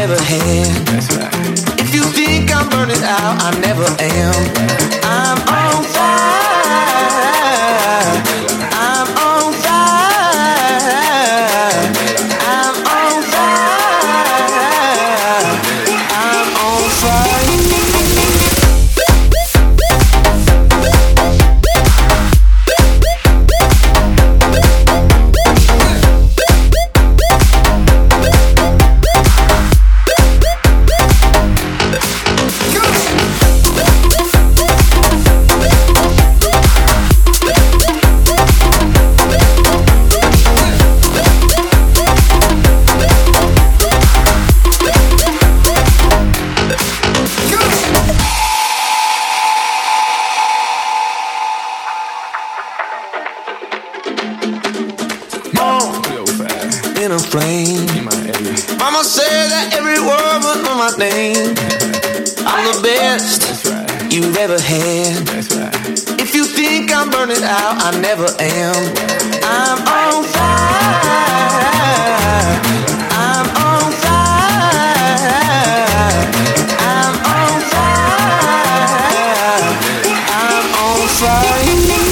never had. That's right. If you think I'm burning out, I never am. I'm on fire. I'm on fire. I'm on fire. I'm on fire. In a flame. Mama said that every word was on my name. I'm the best you've ever had. If you think I'm burning out, I never am. I'm on fire. I'm on fire. I'm on fire. I'm on fire.